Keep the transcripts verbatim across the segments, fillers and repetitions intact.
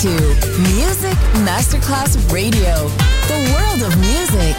to Music Masterclass Radio, the world of music.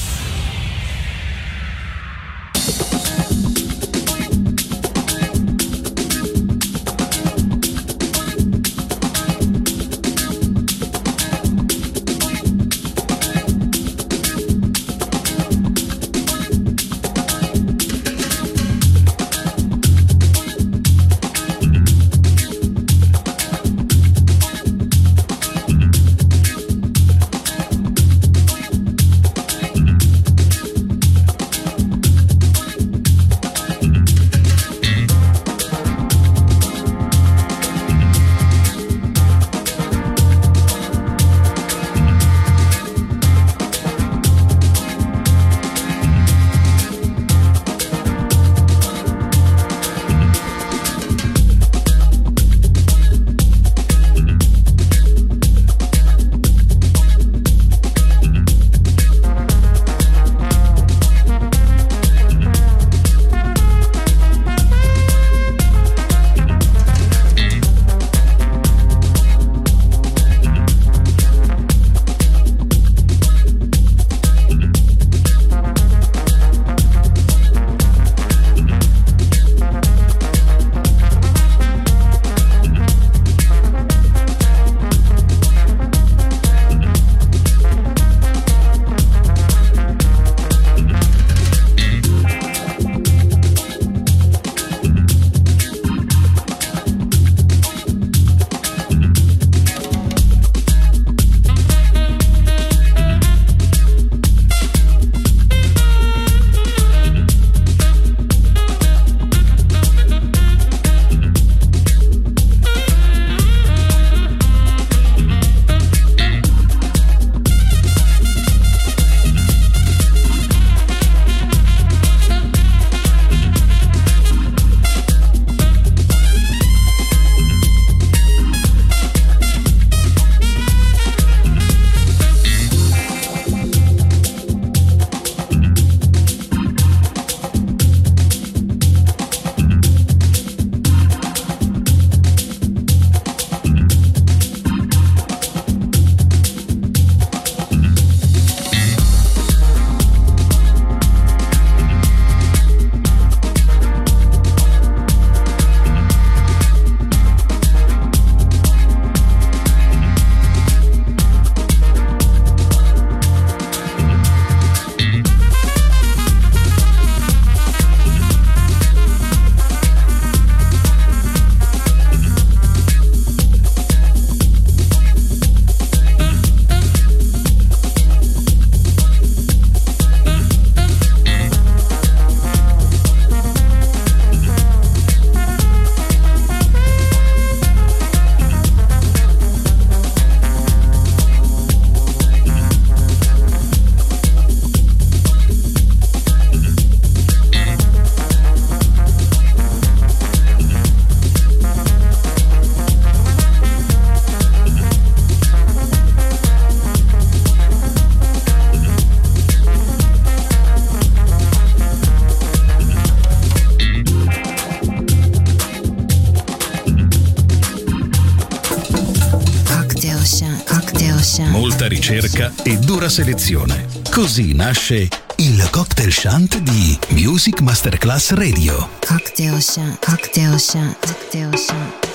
Molta ricerca e dura selezione. Così nasce il Cocktail Shant di Music Masterclass Radio. Cocktail Shant, Cocktail Shant, Cocktail Shant.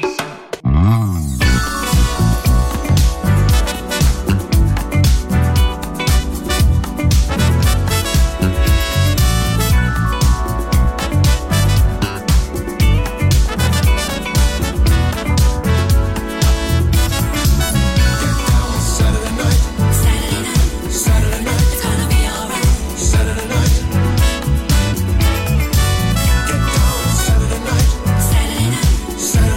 Mm. Saturday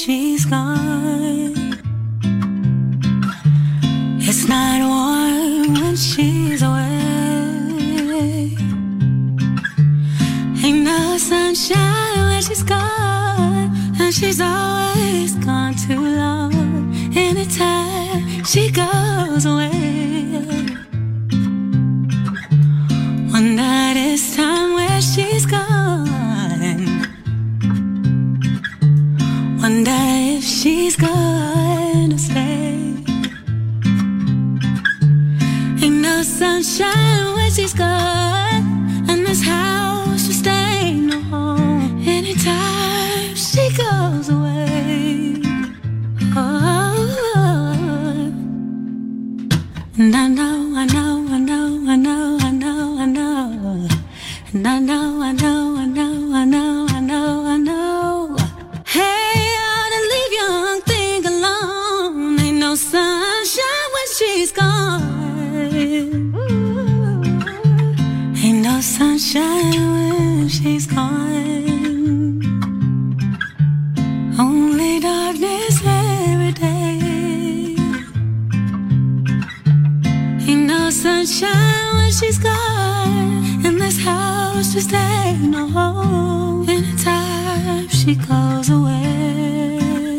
she's gone. It's not warm when she's away. Ain't no sunshine when she's gone, and she's always gone too long. Anytime she goes away, wonder this time where she's gone. Wonder if she's gonna stay. Ain't no sunshine when she's gone, and this house will stay no home. Anytime she goes away, oh, and I know, I know, I know, I know, I know, I know, and I know, I know, I know, I know, I know, I know. Hey, I ought to leave young thing alone. Ain't no sunshine when she's gone. Ain't no sunshine when she's gone. Only darkness every day. Ain't no sunshine when she's gone, and this house just ain't no home. Anytime she goes away,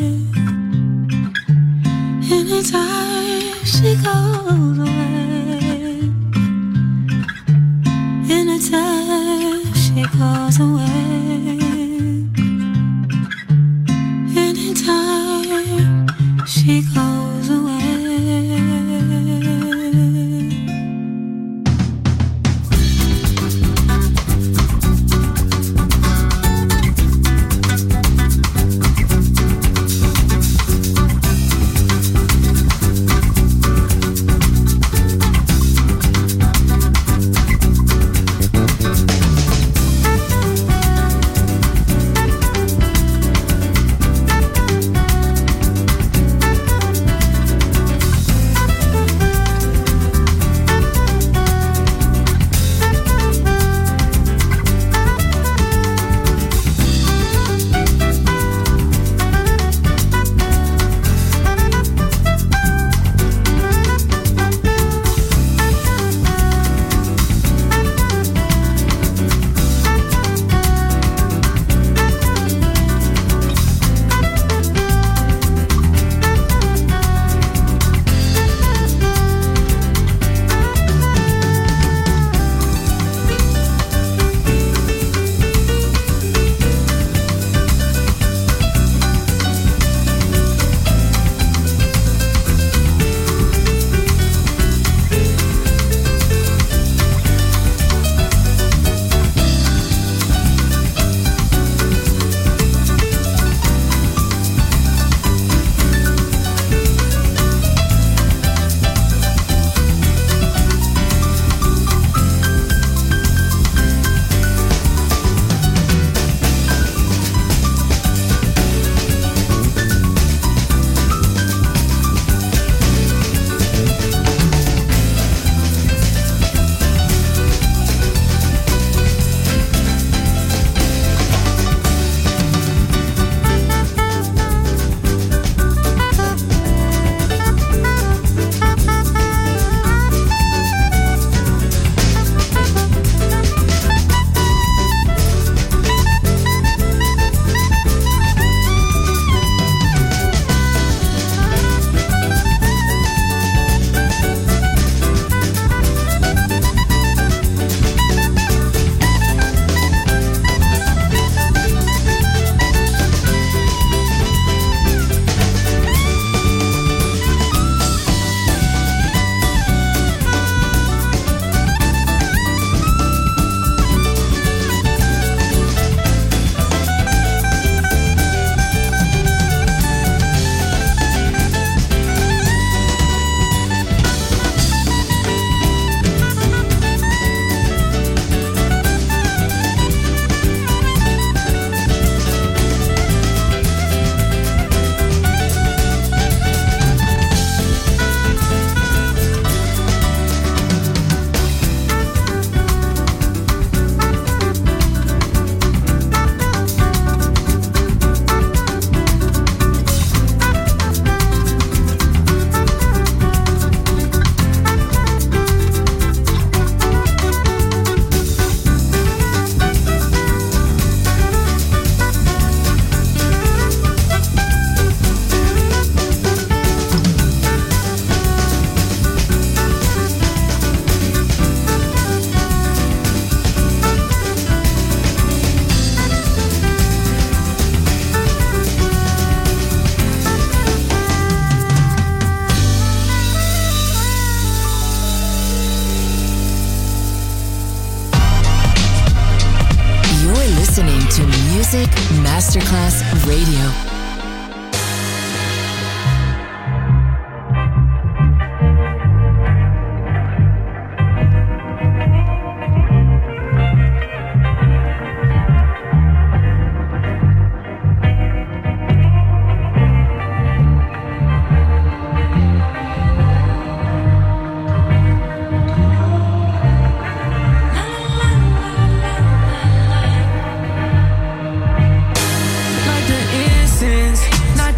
anytime she goes away, anytime she goes away, anytime she goes away.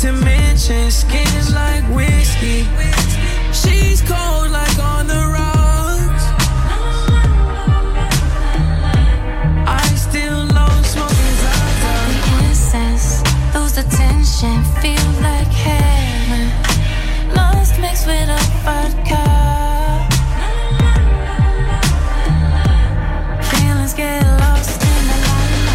to mention skin like whiskey. She's cold like on the rocks. I still love smoking Zaza. The incense, lose the tension, feel like heaven. Lost mixed with a vodka. Feelings get lost in the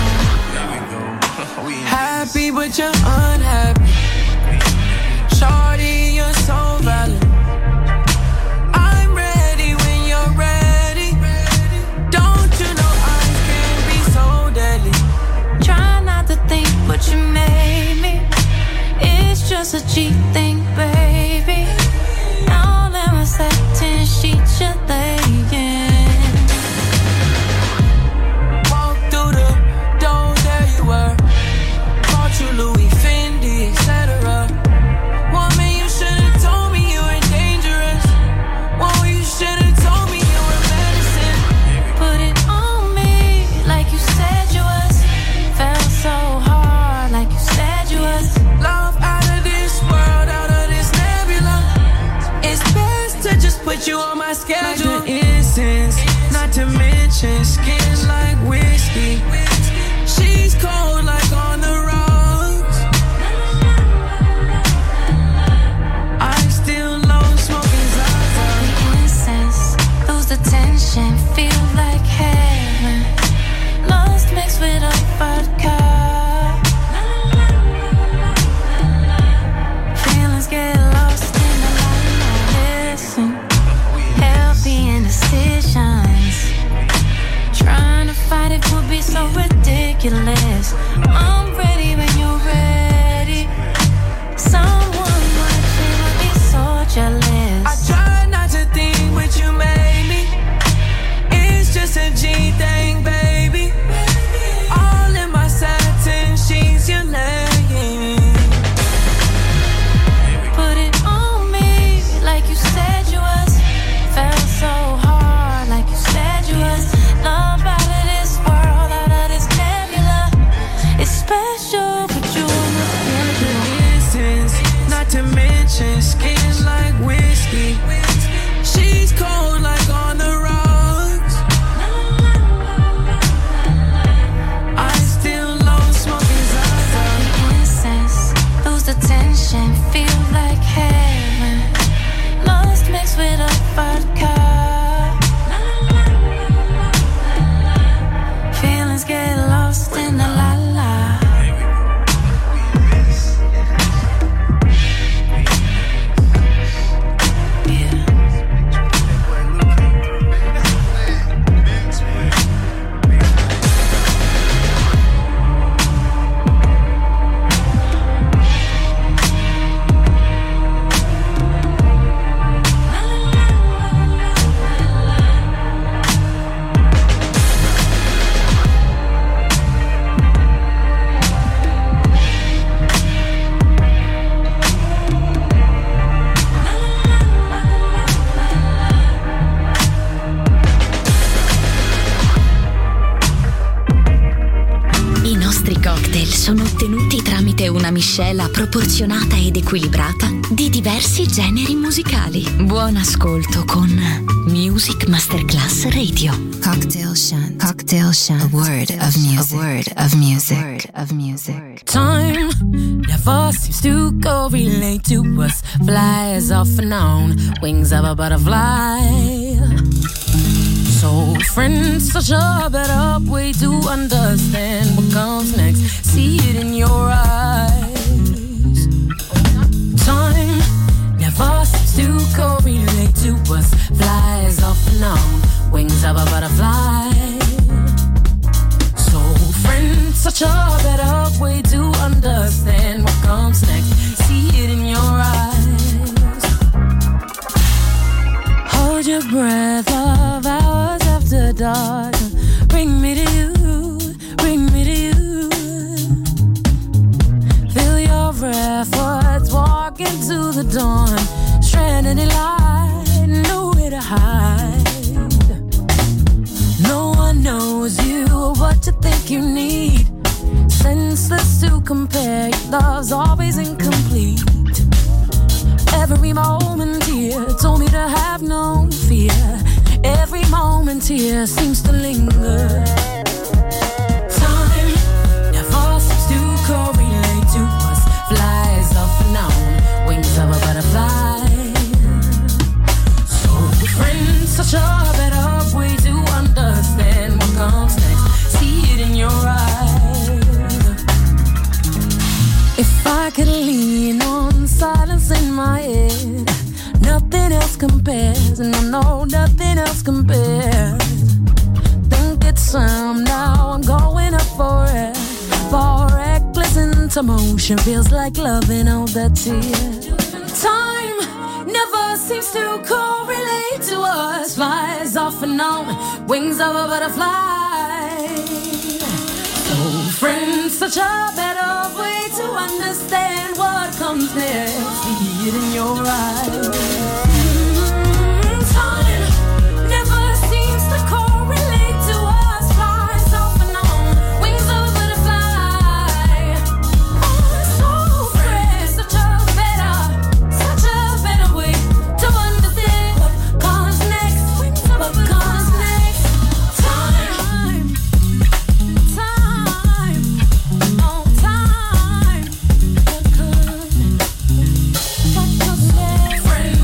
light. Happy but you're unhappy. Shorty, you're so valid. I'm ready when you're ready. Don't you know I can be so deadly? Try not to think what you made me. It's just a cheap thing, baby. All in my satin sheets you're laying. Walk through the door, there you were. Bought you Louis Fendi, et cetera. Woman, you should've told me you were dangerous. Well, you should've told me you were medicine. Put it on me like you said you was. Felt so hard like you said you was. Love out of this world, out of this nebula. It's best to just put you on my schedule. Like the incense, not to mention skin like whiskey. She's cold like on the rocks. I still love smoking Zaza. The incense, lose the tension, feel like heaven. Lost mixed with a vodka. Feelings get lost in the light. Listen, healthy indecisions. Trying to fight it would be so ridiculous. I'm ready when you're ready. Someone watching would be so jealous. I try not to think what you made me. It's just a G thing, baby. All in my satin sheets you're laying. Put it on me like you said you was. Felt so hard like you said you was. Love out of this world, out of this nebula. It's special, but you The incense, not to mention skin like whiskey. She's cold like on the rocks. I still love smoking Zaza. incense, lose the tension, feel like heaven. Lost mixed with a vodka. Feelings get lost in the la la. I nostri cocktail sono ottenuti tramite una miscela proporzionata ed equilibrata di diversi generi musicali. Buon ascolto con Music Masterclass Radio. Cocktail Shant. Cocktail Shant. A word of music. A word of music. A word of music. Time never seems to correlate to us. Flies off and on, wings of a butterfly. So, friends, such a better way to understand what comes next. See it in your eyes. Time never seems to correlate to us. Flies off and on, wings of a butterfly. So, friends, such a better way to understand what comes next. See it in your eyes. Hold your breath, love hours after dark. Bring me to you, bring me to you. Feel your efforts, walk into the dawn. Stranded in light, nowhere to hide. No one knows you or what you think you need. Senseless to compare, your love's always incomplete. wait. Every moment here told me to have no fear. Every moment here seems to linger. Time never seems to correlate to us. Flies off and on, wings of a butterfly. So friends, such a better way to understand what comes next. See it in your eyes. If I could lean on silence in my head, nothing else compares, and I know nothing else compares. Think it's time now, I'm going up for it. For reckless into motion, feels like loving all that's here. Time never seems to correlate to us. Flies off and on, wings of a butterfly. So friends, such a better way to understand what comes next. See it in your eyes. Mm-hmm. Time never seems to correlate to us. Flies off and on, wings of a butterfly. Oh, so friends, such a better, such a better way to understand what comes next. What comes next. Time, time, oh time. What comes, what comes next? Friends,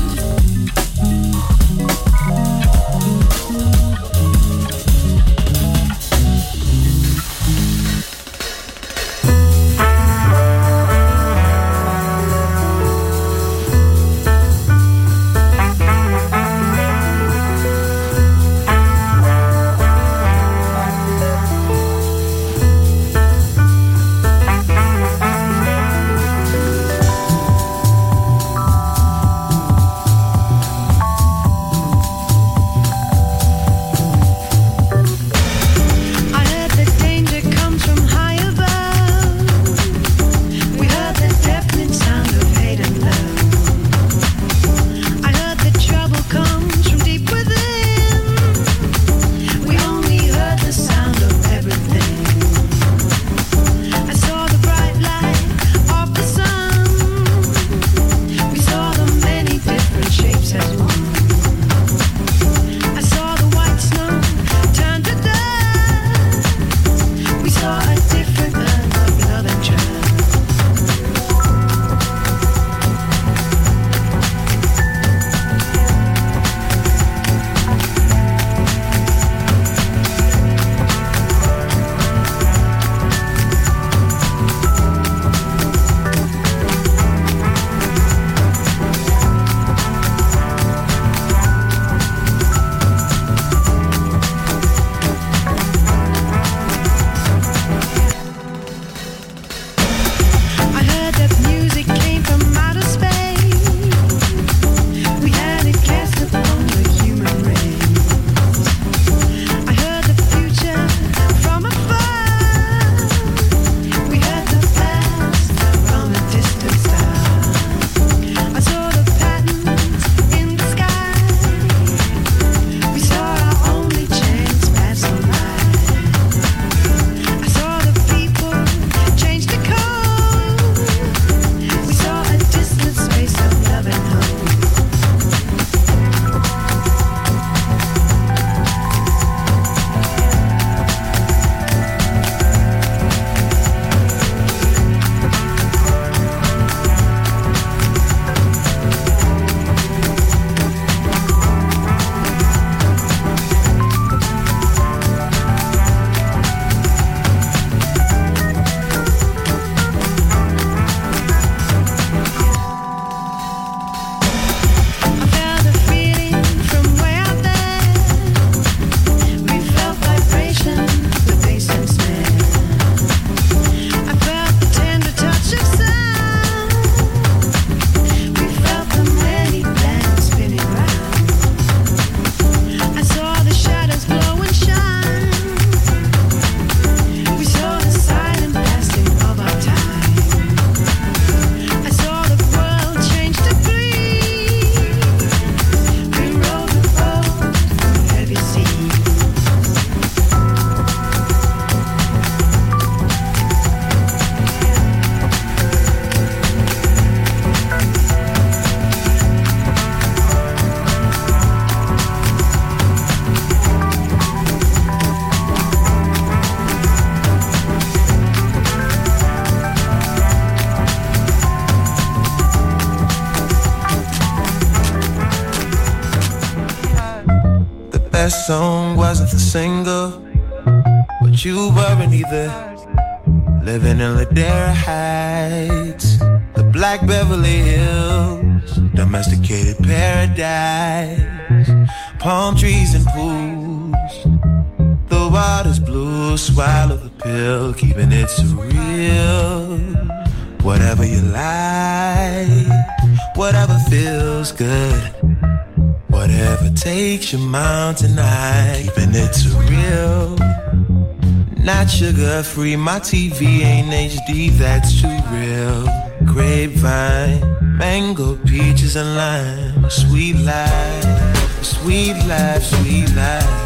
That song wasn't the single, but you weren't either. Living in Ladera Heights, the Black Beverly Hills, domesticated paradise, palm trees and pools. The water's blue, swallow the pill, keeping it surreal. Whatever you like, whatever feels good, whatever takes your mountain high, keeping it surreal. Not sugar free, my T V ain't H D, that's too real. Grapevine, mango, peaches and lime. Sweet life, sweet life, sweet life.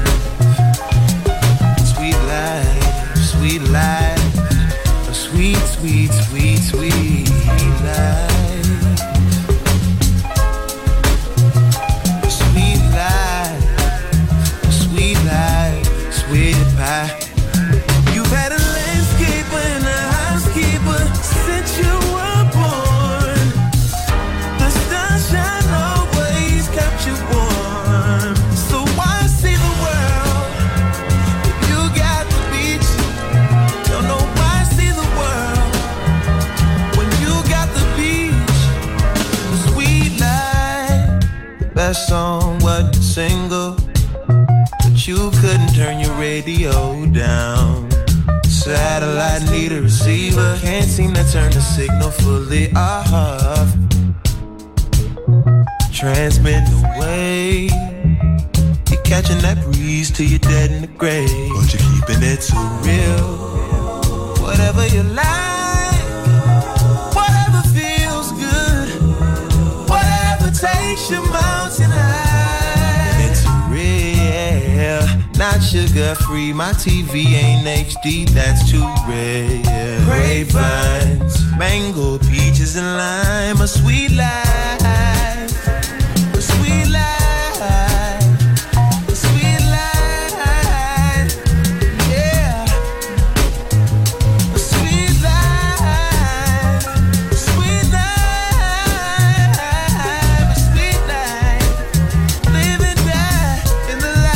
Sweet life, sweet life. A sweet, sweet, sweet, sweet life. Sweet life, sweet life, sweet pie. Had a landscaper and a housekeeper since you were born. The sunshine always kept you warm. So why see the world if you got the beach? Don't know why see the world when you got the beach. The sweet life. That song wasn't a single, but you couldn't turn your radio down. Satellite need a receiver, can't seem to turn the signal fully off. Transmitting away, you're catching that breeze till you're dead in the grave, but you're keeping it too real. Whatever you like, whatever feels good, whatever takes your mountain high, it's real. Not sugar free, my T V ain't H D, that's too rare. Grapevines, mango, peaches and lime. A sweet life, a sweet life, a sweet life, yeah. A sweet life, a sweet life, a sweet life. Live and die in the light.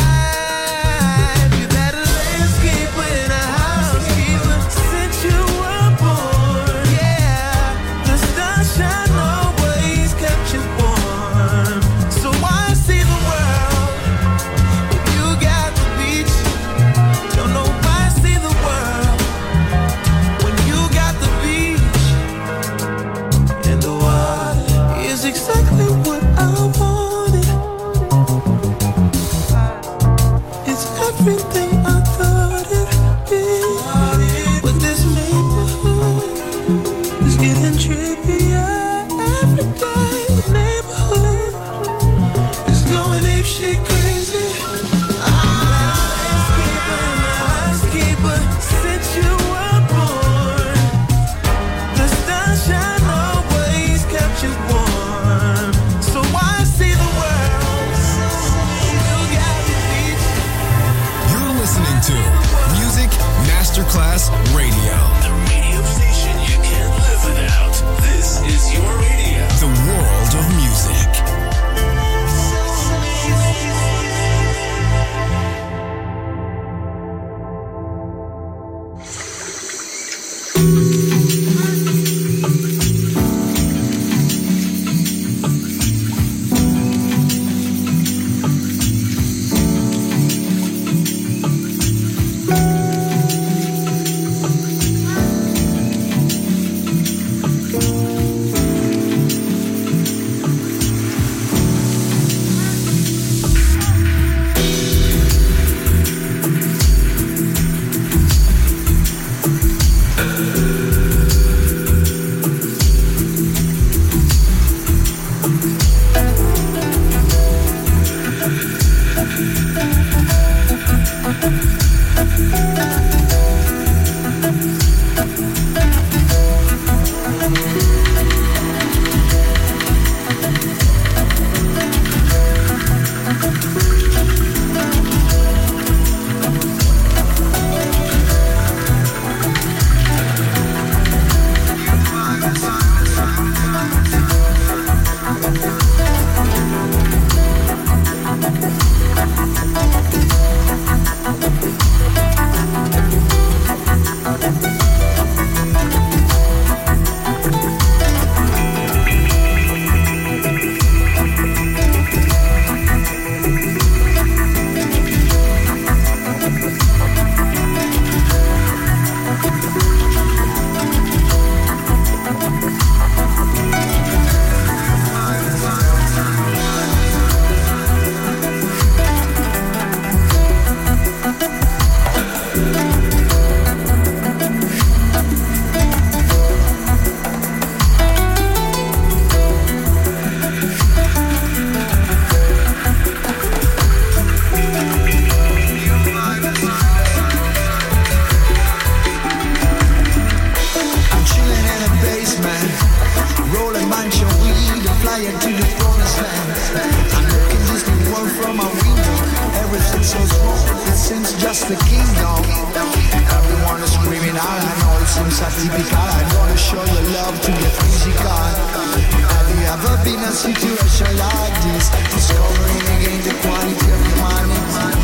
higher to the promised land. I look at this new world from my window. Everything's so small, it seems just a kingdom. Everyone is screaming out, I know it seems atypical. I wanna show you love to get physical. Have you ever been in a situation like this? Discovering again the quality of humanity.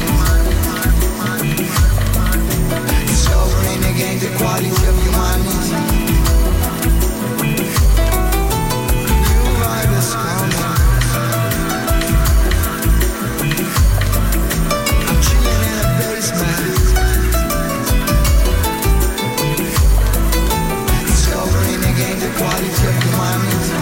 Discovering again the quality of humanity. New vibe is coming. I'm chilling in a basement. Discovering again the quality of humanity.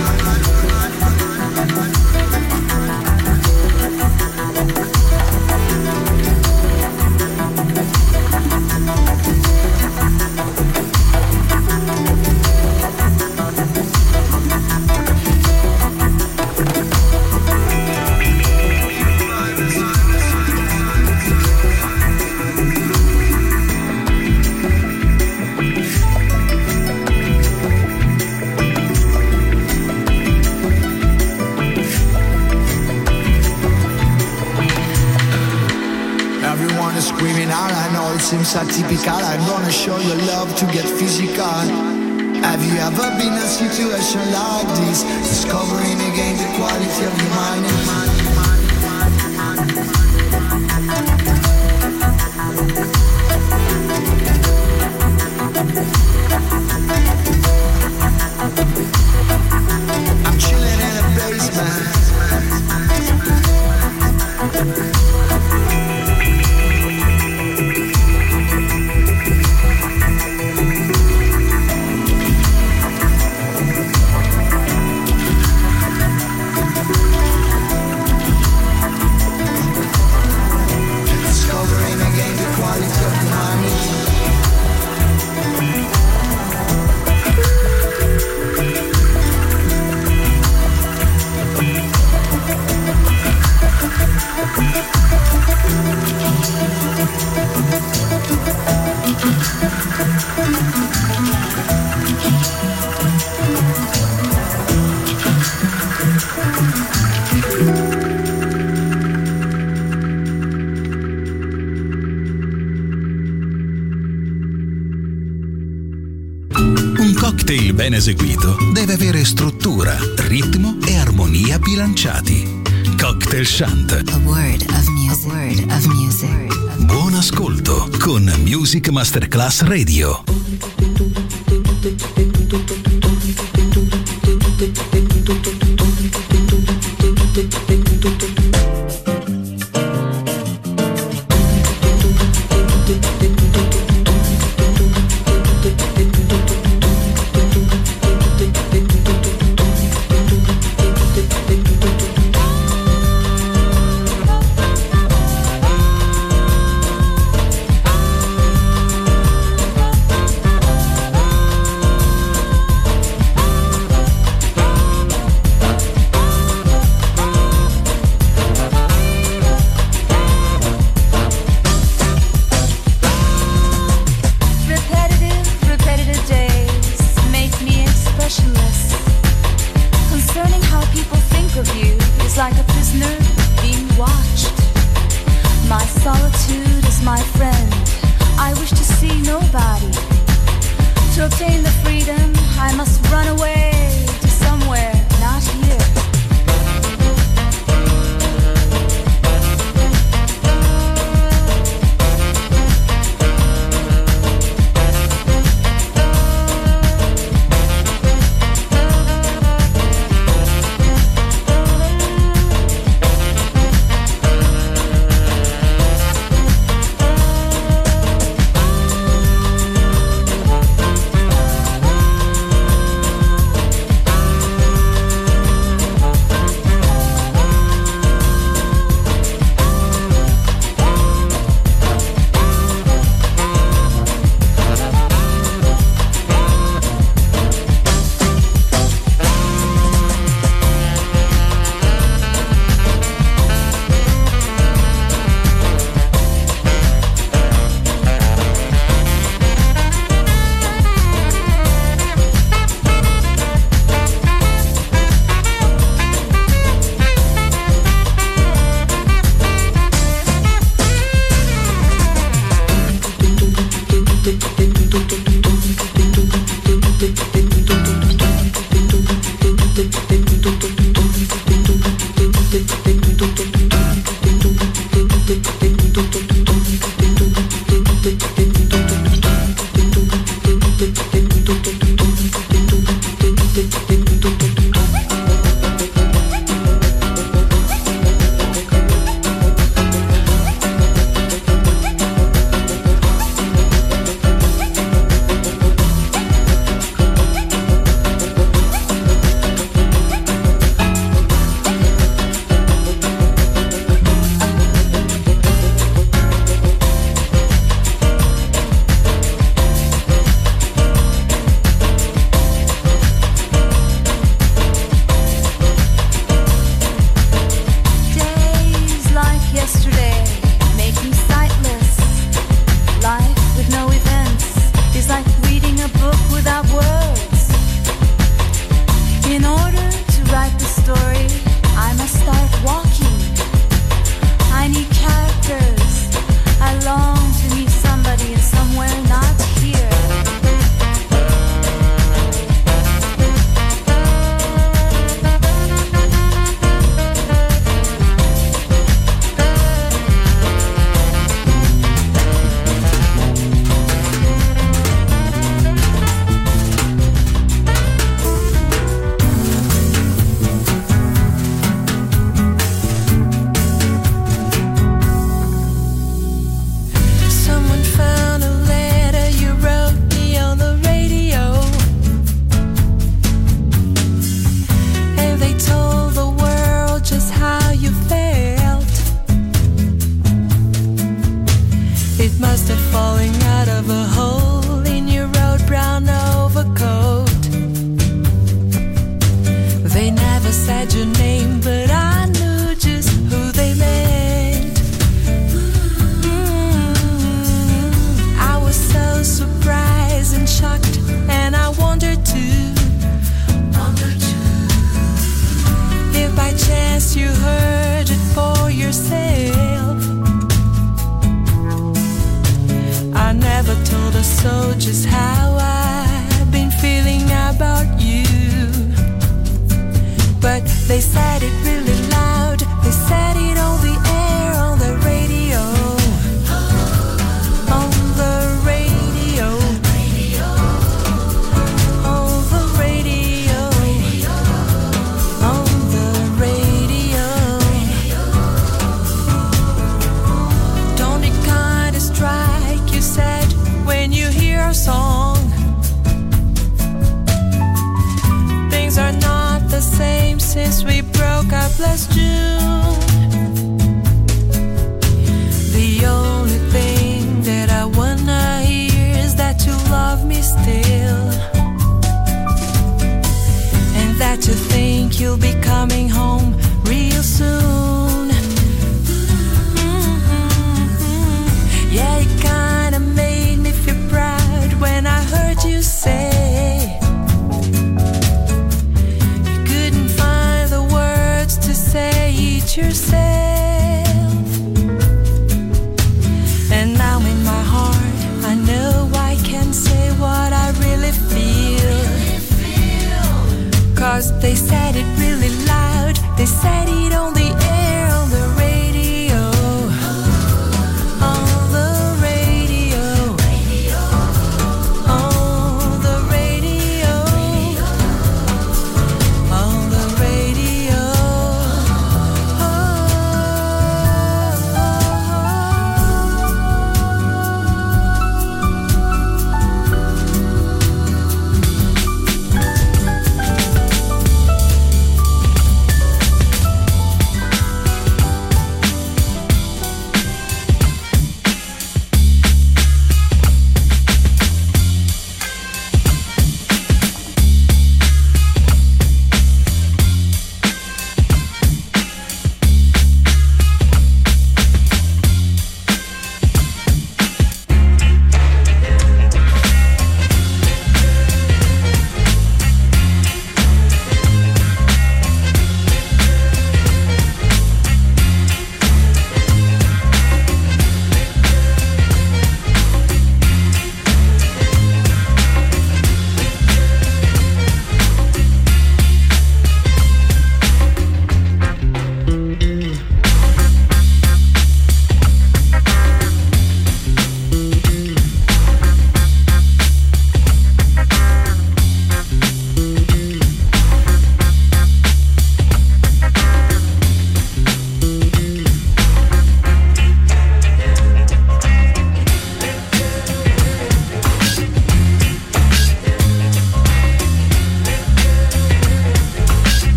Seems atypical, I'm gonna show you love to get physical. Have you ever been in a situation like this? Discovering again the quality of humanity. I'm chilling in a basement. Ben eseguito deve avere struttura, ritmo e armonia bilanciati. Cocktail Chant. A word of music. A word of music. Buon ascolto con Music Masterclass Radio.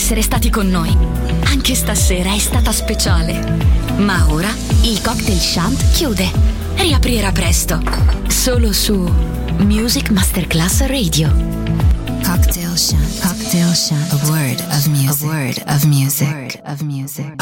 essere stati con noi. Anche stasera è stata speciale. Ma ora il Cocktail Shant chiude. Riaprirà presto. Solo su Music Masterclass Radio. Cocktail Shant. Cocktail Shant. A word of music. A word of music. A word of music.